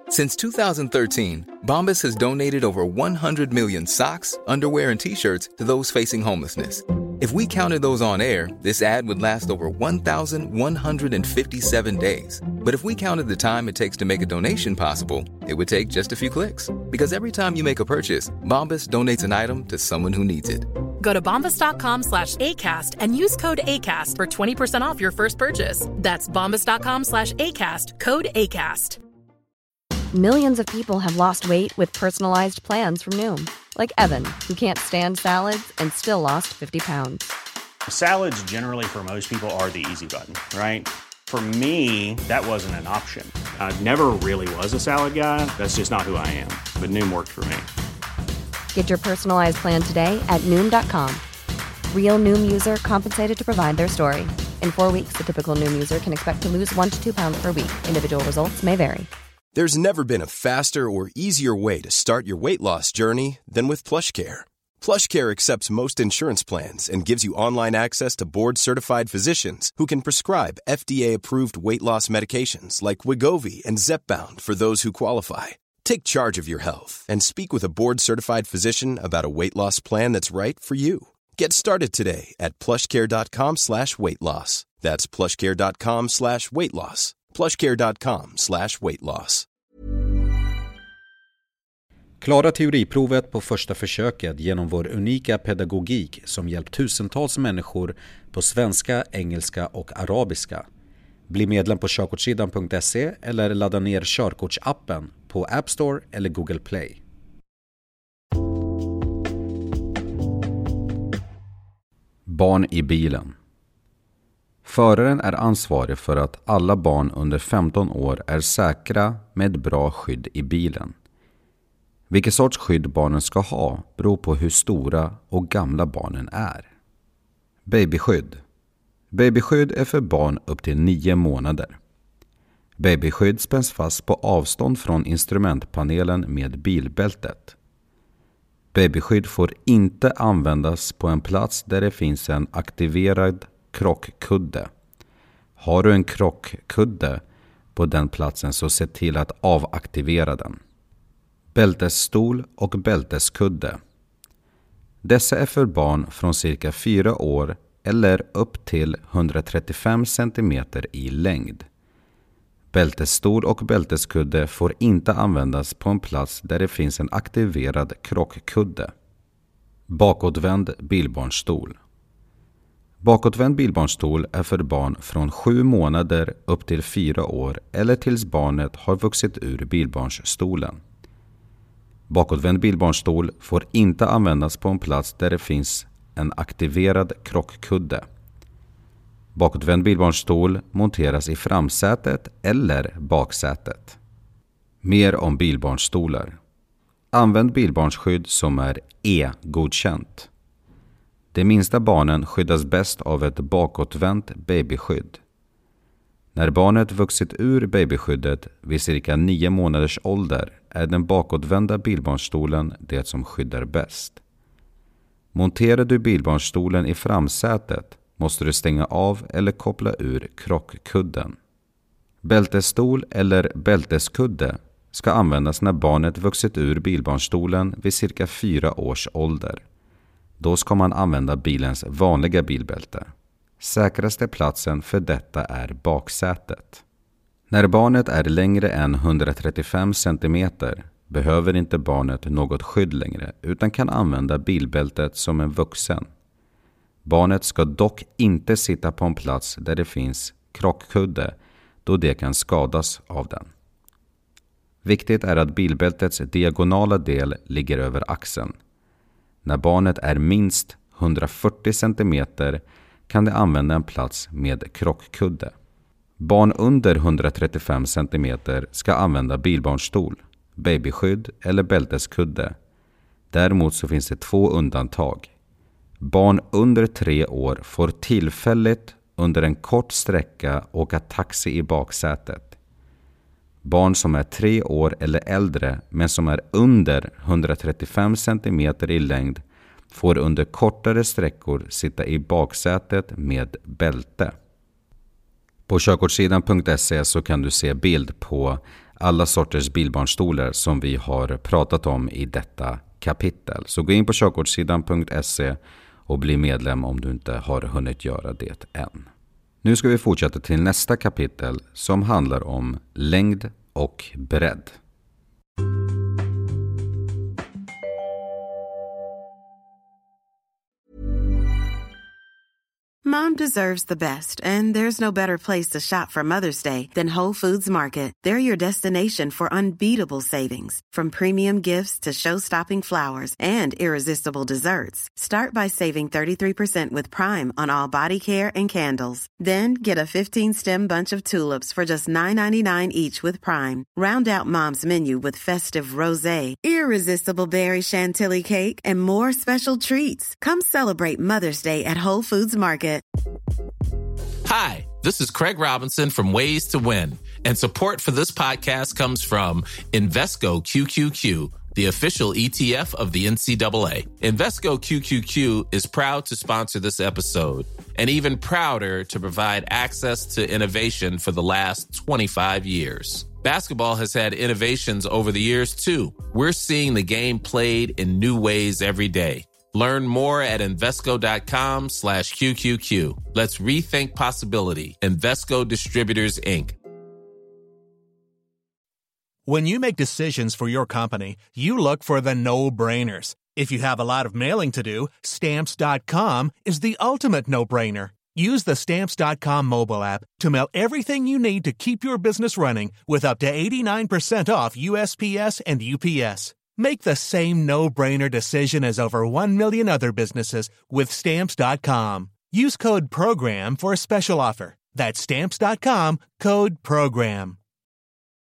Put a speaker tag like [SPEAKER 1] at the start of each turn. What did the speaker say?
[SPEAKER 1] Since 2013, Bombas has donated over 100 million socks, underwear, and T-shirts to those facing homelessness. If we counted those on air, this ad would last over 1,157 days. But if we counted the time it takes to make a donation possible, it would take just a few clicks. Because every time you make a purchase, Bombas donates an item to someone who needs it.
[SPEAKER 2] Go to bombas.com/ACAST and use code ACAST for 20% off your first purchase. That's bombas.com/ACAST, code ACAST.
[SPEAKER 3] Millions of people have lost weight with personalized plans from Noom. Like Evan, who can't stand salads and still lost 50 pounds.
[SPEAKER 4] Salads generally for most people are the easy button, right? For me, that wasn't an option. I never really was a salad guy. That's just not who I am. But Noom worked for me.
[SPEAKER 3] Get your personalized plan today at Noom.com. Real Noom user compensated to provide their story. In 4 weeks, the typical Noom user can expect to lose 1 to 2 pounds per week. Individual results may vary.
[SPEAKER 5] There's never been a faster or easier way to start your weight loss journey than with PlushCare. PlushCare accepts most insurance plans and gives you online access to board-certified physicians who can prescribe FDA-approved weight loss medications like Wegovy and Zepbound for those who qualify. Take charge of your health and speak with a board-certified physician about a weight loss plan that's right for you. Get started today at plushcare.com/weightloss. That's plushcare.com/weightloss. plushcare.com/weightloss.
[SPEAKER 6] Klara teoriprovet på första försöket genom vår unika pedagogik som hjälpt tusentals människor på svenska, engelska och arabiska. Bli medlem på körkortssidan.se eller ladda ner körkortsappen på App Store eller Google Play. Barn i bilen. Föraren är ansvarig för att alla barn under 15 år är säkra med bra skydd i bilen. Vilket sorts skydd barnen ska ha beror på hur stora och gamla barnen är. Babyskydd. Babyskydd är för barn upp till 9 månader. Babyskydd spänns fast på avstånd från instrumentpanelen med bilbältet. Babyskydd får inte användas på en plats där det finns en aktiverad krockkudde. Har du en krockkudde på den platsen så se till att avaktivera den. Bältesstol och bälteskudde. Dessa är för barn från cirka 4 år eller upp till 135 cm i längd. Bältesstol och bälteskudde får inte användas på en plats där det finns en aktiverad krockkudde. Bakåtvänd bilbarnstol. Bakåtvänd bilbarnstol är för barn från 7 månader upp till 4 år eller tills barnet har vuxit ur bilbarnsstolen. Bakåtvänd bilbarnstol får inte användas på en plats där det finns en aktiverad krockkudde. Bakåtvänd bilbarnstol monteras i framsätet eller baksätet. Mer om bilbarnstolar. Använd bilbarnsskydd som är E-godkänt. De minsta barnen skyddas bäst av ett bakåtvänt babyskydd. När barnet vuxit ur babyskyddet vid cirka 9 månaders ålder är den bakåtvända bilbarnstolen det som skyddar bäst. Monterar du bilbarnstolen i framsätet måste du stänga av eller koppla ur krockkudden. Bältesstol eller bälteskudde ska användas när barnet vuxit ur bilbarnstolen vid cirka 4 års ålder. Då ska man använda bilens vanliga bilbälte. Säkraste platsen för detta är baksätet. När barnet är längre än 135 cm behöver inte barnet något skydd längre utan kan använda bilbältet som en vuxen. Barnet ska dock inte sitta på en plats där det finns krockkudde då det kan skadas av den. Viktigt är att bilbältets diagonala del ligger över axeln. När barnet är minst 140 cm kan det använda en plats med krockkudde. Barn under 135 cm ska använda bilbarnstol, babyskydd eller bälteskudde. Däremot så finns det 2 undantag. Barn under 3 år får tillfälligt under en kort sträcka åka taxi i baksätet. Barn som är 3 år eller äldre men som är under 135 cm i längd får under kortare sträckor sitta i baksätet med bälte. På körkortssidan.se så kan du se bild på alla sorters bilbarnstolar som vi har pratat om i detta kapitel. Så gå in på körkortssidan.se och bli medlem om du inte har hunnit göra det än. Nu ska vi fortsätta till nästa kapitel som handlar om längd och bredd.
[SPEAKER 7] Mom deserves the best, and there's no better place to shop for Mother's Day than Whole Foods Market. They're your destination for unbeatable savings, from premium gifts to show-stopping flowers and irresistible desserts. Start by saving 33% with Prime on all body care and candles. Then get a 15-stem bunch of tulips for just $9.99 each with Prime. Round out Mom's menu with festive rosé, irresistible berry chantilly cake, and more special treats. Come celebrate Mother's Day at Whole Foods Market.
[SPEAKER 8] Hi, this is Craig Robinson from Ways to Win, and support for this podcast comes from Invesco QQQ, the official ETF of the NCAA. Invesco QQQ is proud to sponsor this episode, and even prouder to provide access to innovation for the last 25 years. Basketball has had innovations over the years, too. We're seeing the game played in new ways every day. Learn more at Invesco.com/QQQ. Let's rethink possibility. Invesco Distributors, Inc.
[SPEAKER 9] When you make decisions for your company, you look for the no-brainers. If you have a lot of mailing to do, Stamps.com is the ultimate no-brainer. Use the Stamps.com mobile app to mail everything you need to keep your business running with up to 89% off USPS and UPS. Make the same no-brainer decision as over 1 million other businesses with Stamps.com. Use code PROGRAM for a special offer. That's Stamps.com, code PROGRAM.